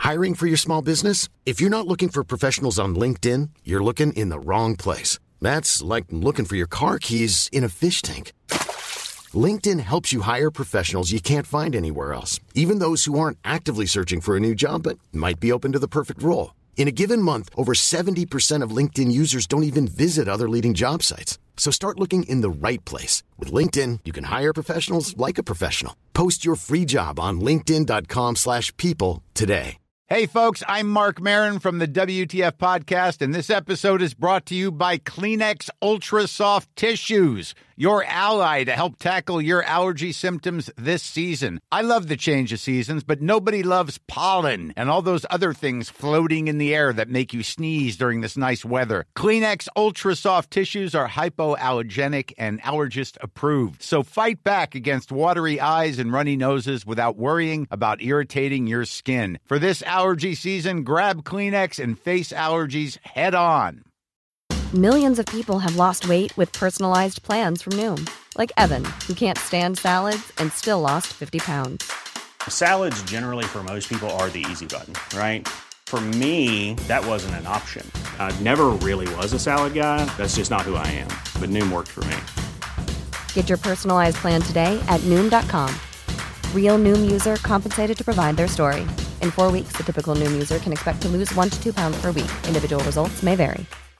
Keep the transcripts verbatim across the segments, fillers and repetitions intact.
Hiring for your small business? If you're not looking for professionals on LinkedIn, you're looking in the wrong place. That's like looking for your car keys in a fish tank. LinkedIn helps you hire professionals you can't find anywhere else, even those who aren't actively searching for a new job but might be open to the perfect role. In a given month, over seventy percent of LinkedIn users don't even visit other leading job sites. So start looking in the right place. With LinkedIn, you can hire professionals like a professional. Post your free job on linkedin.com slash people today. Hey folks, I'm Mark Maron from the W T F podcast, and this episode is brought to you by Kleenex Ultra Soft Tissues, your ally to help tackle your allergy symptoms this season. I love the change of seasons, but nobody loves pollen and all those other things floating in the air that make you sneeze during this nice weather. Kleenex Ultra Soft Tissues are hypoallergenic and allergist approved, so fight back against watery eyes and runny noses without worrying about irritating your skin. For this allergy season, grab Kleenex and face allergies head on. Millions of people have lost weight with personalized plans from Noom, like Evan, who can't stand salads and still lost fifty pounds. Salads generally for most people are the easy button, right? For me, that wasn't an option. I never really was a salad guy. That's just not who I am. But Noom worked for me. Get your personalized plan today at Noom dot com. Real Noom user compensated to provide their story. In four weeks, the typical Noom user can expect to lose one to two pounds per week. Individual results may vary.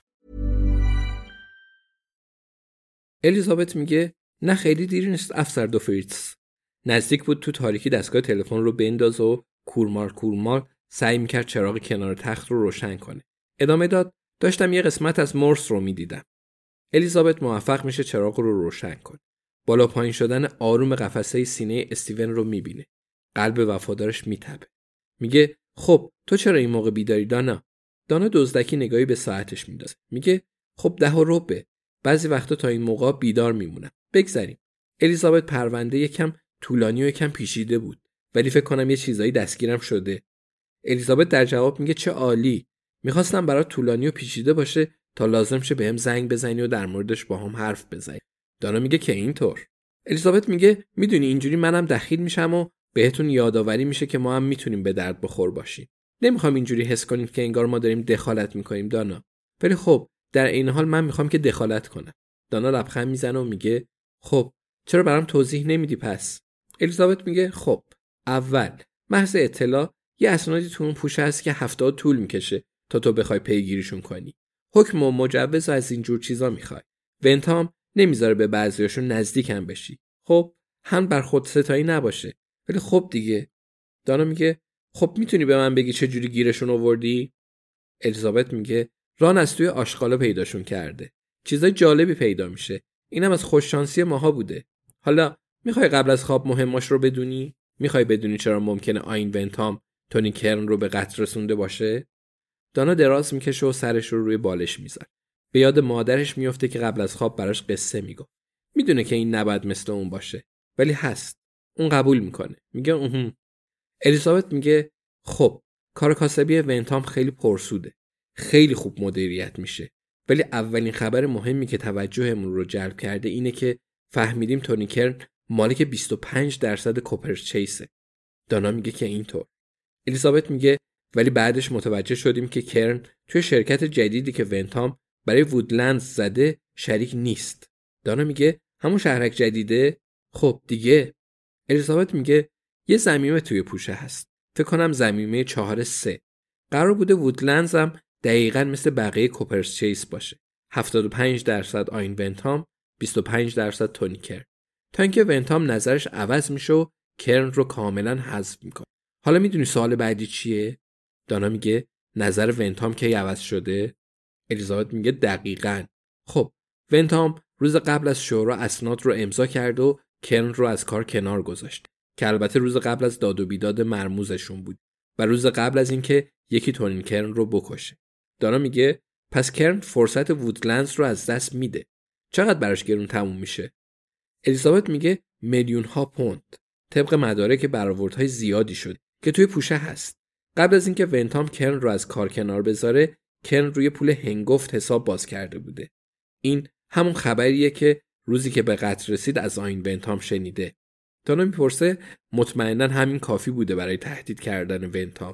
الیزابت میگه نه خیلی دیر نیست افسر دو فریتز. نزدیک بود تو تاریکی دستگاه تلفن رو بندازه و کورمار کورمار سعی میکرد چراغ کنار تخت رو روشن کنه. ادامه داد داشتم یه قسمت از مورس رو میدیدم. الیزابت موفق میشه چراغ رو روشن کنه. بالا پایین شدن آروم قفسه سینه استیون رو میبینه. قلب وفادارش میتپه. میگه خب تو چرا این موقع بیداری دانا؟ دانا دزدکی نگاهی به ساعتش میندازه. میگه خب ده و ربع. بعضی وقتا تا این موقع بیدار میمونم. بگذریم. الیزابت پرونده یکم طولانی و یکم پیچیده بود، ولی فکر کنم یه چیزایی دستگیرم شده. الیزابت در جواب میگه چه عالی. میخواستم برات طولانی و پیچیده باشه تا لازم شه بهم زنگ بزنی و در موردش با هم حرف بزنی. دانا میگه که اینطور. الیزابت میگه میدونی اینجوری منم دخیل میشم و بهتون یادآوری میشه که ما هم میتونیم به درد بخور باشیم. نمیخوام اینجوری حس کنید که انگار ما داریم دخالت میکنیم دانا. ولی خب در این حال من میخوام که دخالت کنم. دانا لبخند میزنه و میگه خب چرا برام توضیح نمیدی پس؟ الیزابت میگه خب اول محض اطلاع یه اسنادی تو اون پوشه هست که هفتاد طول میکشه تا تو بخوای پیگیریشون کنی. حکم و مجوز از این جور چیزا میخوای. ونتام نمیذاره به بعضیاشون نزدیکم بشی. خب هم بر خود ستایی نباشه. ولی خب دیگه. دانا میگه خب میتونی به من بگی چه جوری گیرشون آوردی؟ الیزابت میگه ران از توی آشغالا پیداشون کرده. چیزای جالبی پیدا میشه. اینم از خوش شانسی ماها بوده. حالا میخوای قبل از خواب مهماش رو بدونی؟ میخوای بدونی چرا ممکنه آین ونتام تونی کرن رو به قتل رسونده باشه؟ دانا دراز میکشه و سرش رو روی بالش میذاره. به یاد مادرش میفته که قبل از خواب براش قصه میگه. میدونه که این نباید مثل اون باشه، ولی هست. اون قبول میکنه. میگه اوه. الیزابت میگه خب کار کاسبی ونتام خیلی پرسوده. خیلی خوب مدیریت میشه. ولی اولین خبر مهمی که توجهمون رو جلب کرده اینه که فهمیدیم تونی کرن مالک بیست و پنج درصد کوپرچیسه. دانا میگه که اینطور. الیزابت میگه ولی بعدش متوجه شدیم که کرن توی شرکت جدیدی که ونتام برای وودلندز زده شریک نیست. دانا میگه همون شهرک جدیده؟ خب دیگه. الیزابت میگه یه ضمیمه توی پوشه هست. فکر کنم ضمیمه چهار سه. قرار بوده وودلندز هم دقیقاً مثل بقیه کوپرچیس باشه. هفتاد و پنج درصد آین ونتام، بیست و پنج درصد تونی کرن. تا اینکه ونتام نظرش عوض میشه و کرن رو کاملا حذف میکنه. حالا میدونی سوال بعدی چیه؟ دانا میگه نظر ونتام کی عوض شده؟ الیزابت میگه دقیقاً. خب ونتام روز قبل از شورا اسناد رو امضا کرد و کرن رو از کار کنار گذاشت که البته روز قبل از داد و بیداد مرموزشون بود و روز قبل از اینکه یکی تونین کرن رو بکشه. دانا میگه پس کرن فرصت وودلندز رو از دست میده. چقدر براش گرون تموم میشه؟ الیزابت میگه میلیون ها پوند. طبق مدارک برآوردهای زیادی شد که توی پوشه هست. قبل از اینکه ونتام کرن رو از کار کنار بذاره، کرن روی پول هنگفت حساب باز کرده بوده. این همون خبریه که روزی که به قتل رسید از آین ونتام شنیده. دانا میپرسه مطمئناً همین کافی بوده برای تهدید کردن ونتام.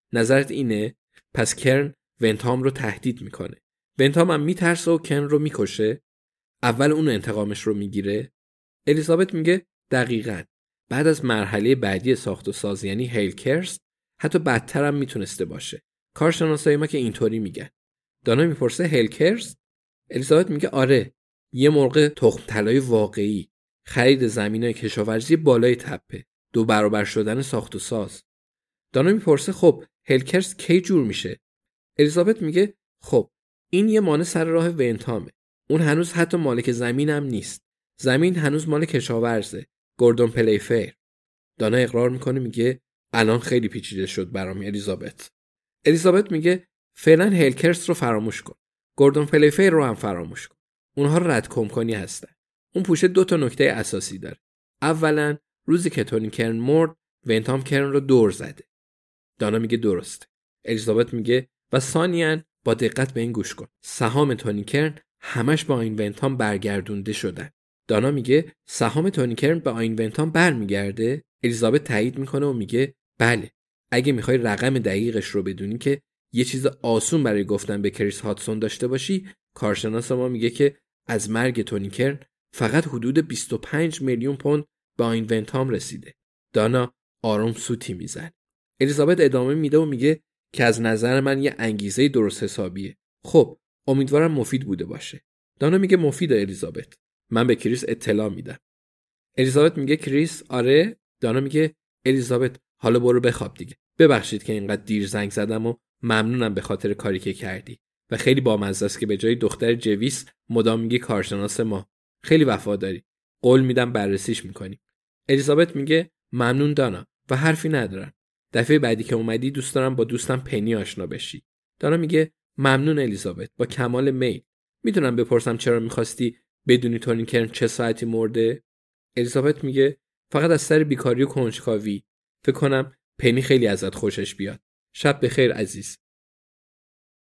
نظرت اینه؟ پس کرن ونتام رو تهدید میکنه. ونتام هم میترسه و کرن رو میکشه. اول اون انتقامش رو میگیره. الیزابت میگه دقیقاً. بعد از مرحله بعدی ساخت و ساز یعنی هیلکرست حتی بدتر هم میتونسته باشه. کارشناسای ما که اینطوری میگن. دانا میپرسه هیلکرست؟ الیزابت میگه آره، یه مرغ تخم طلای واقعی، خرید زمینای کشاورزی بالای تپه، دو برابر شدن ساخت و ساز. دانا میپرسه خب هیلکرست کی جور میشه؟ الیزابت میگه خب این یه مانع سر راه ونتامه. اون هنوز حتی مالک زمین هم نیست. زمین هنوز مال کشاورزه، گوردون پلیفیر. دانا اقرار میکنه میگه الان خیلی پیچیده شد برام الیزابت. الیزابت میگه فعلا هیلکرست رو فراموش کن. گوردون پلیفیر رو هم فراموش کن. اونها رد کمکنی هستن. اون پوشه دو تا نکته اساسی داره. اولا روزی که تونی کرن مرد، ونتام کرن رو دور زده. دانا میگه درسته. الیزابت میگه و ثانیاً با دقت به این گوش کن. سهام تونی کرن همش با این ونتام برگردونده شدن. دانا میگه سهام تونی کرن به آین ونتام برمیگرده؟ الیزابت تایید میکنه و میگه بله. اگه میخوای رقم دقیقش رو بدونی که یه چیز آسون برای گفتن به کریس هاتسون داشته باشی، کارشناس ما میگه که از مرگ تونی کرن فقط حدود بیست و پنج میلیون پوند به آین ونتام رسیده. دانا آروم سوتی میزنه. الیزابت ادامه میده و میگه که از نظر من یه انگیزه درست حسابیه. خب امیدوارم مفید بوده باشه. دانا میگه مفیده الیزابت. من به کریس اطلاع میدم. الیزابت میگه کریس آره. دانا میگه الیزابت حالا برو بخواب دیگه. ببخشید که اینقدر دیر زنگ زدم و ممنونم به خاطر کاری که کردی. و خیلی بامزه است که به جای دختر جویس مدام میگی کارشناس ما. خیلی وفاداری. قول میدم بررسیش میکنیم. الیزابت میگه ممنون دانا و حرفی ندارم. دفعه بعدی که اومدی دوست دارم با دوستم پنی آشنا بشی. دانا میگه ممنون الیزابت، با کمال میل. میتونم بپرسم چرا میخواستی بدونی تونی کرن چه ساعتی مرده؟ الیزابت میگه فقط از سر بیکاری و کنجکاوی. فکر کنم پنی خیلی ازت خوشش بیاد. شب بخیر عزیز.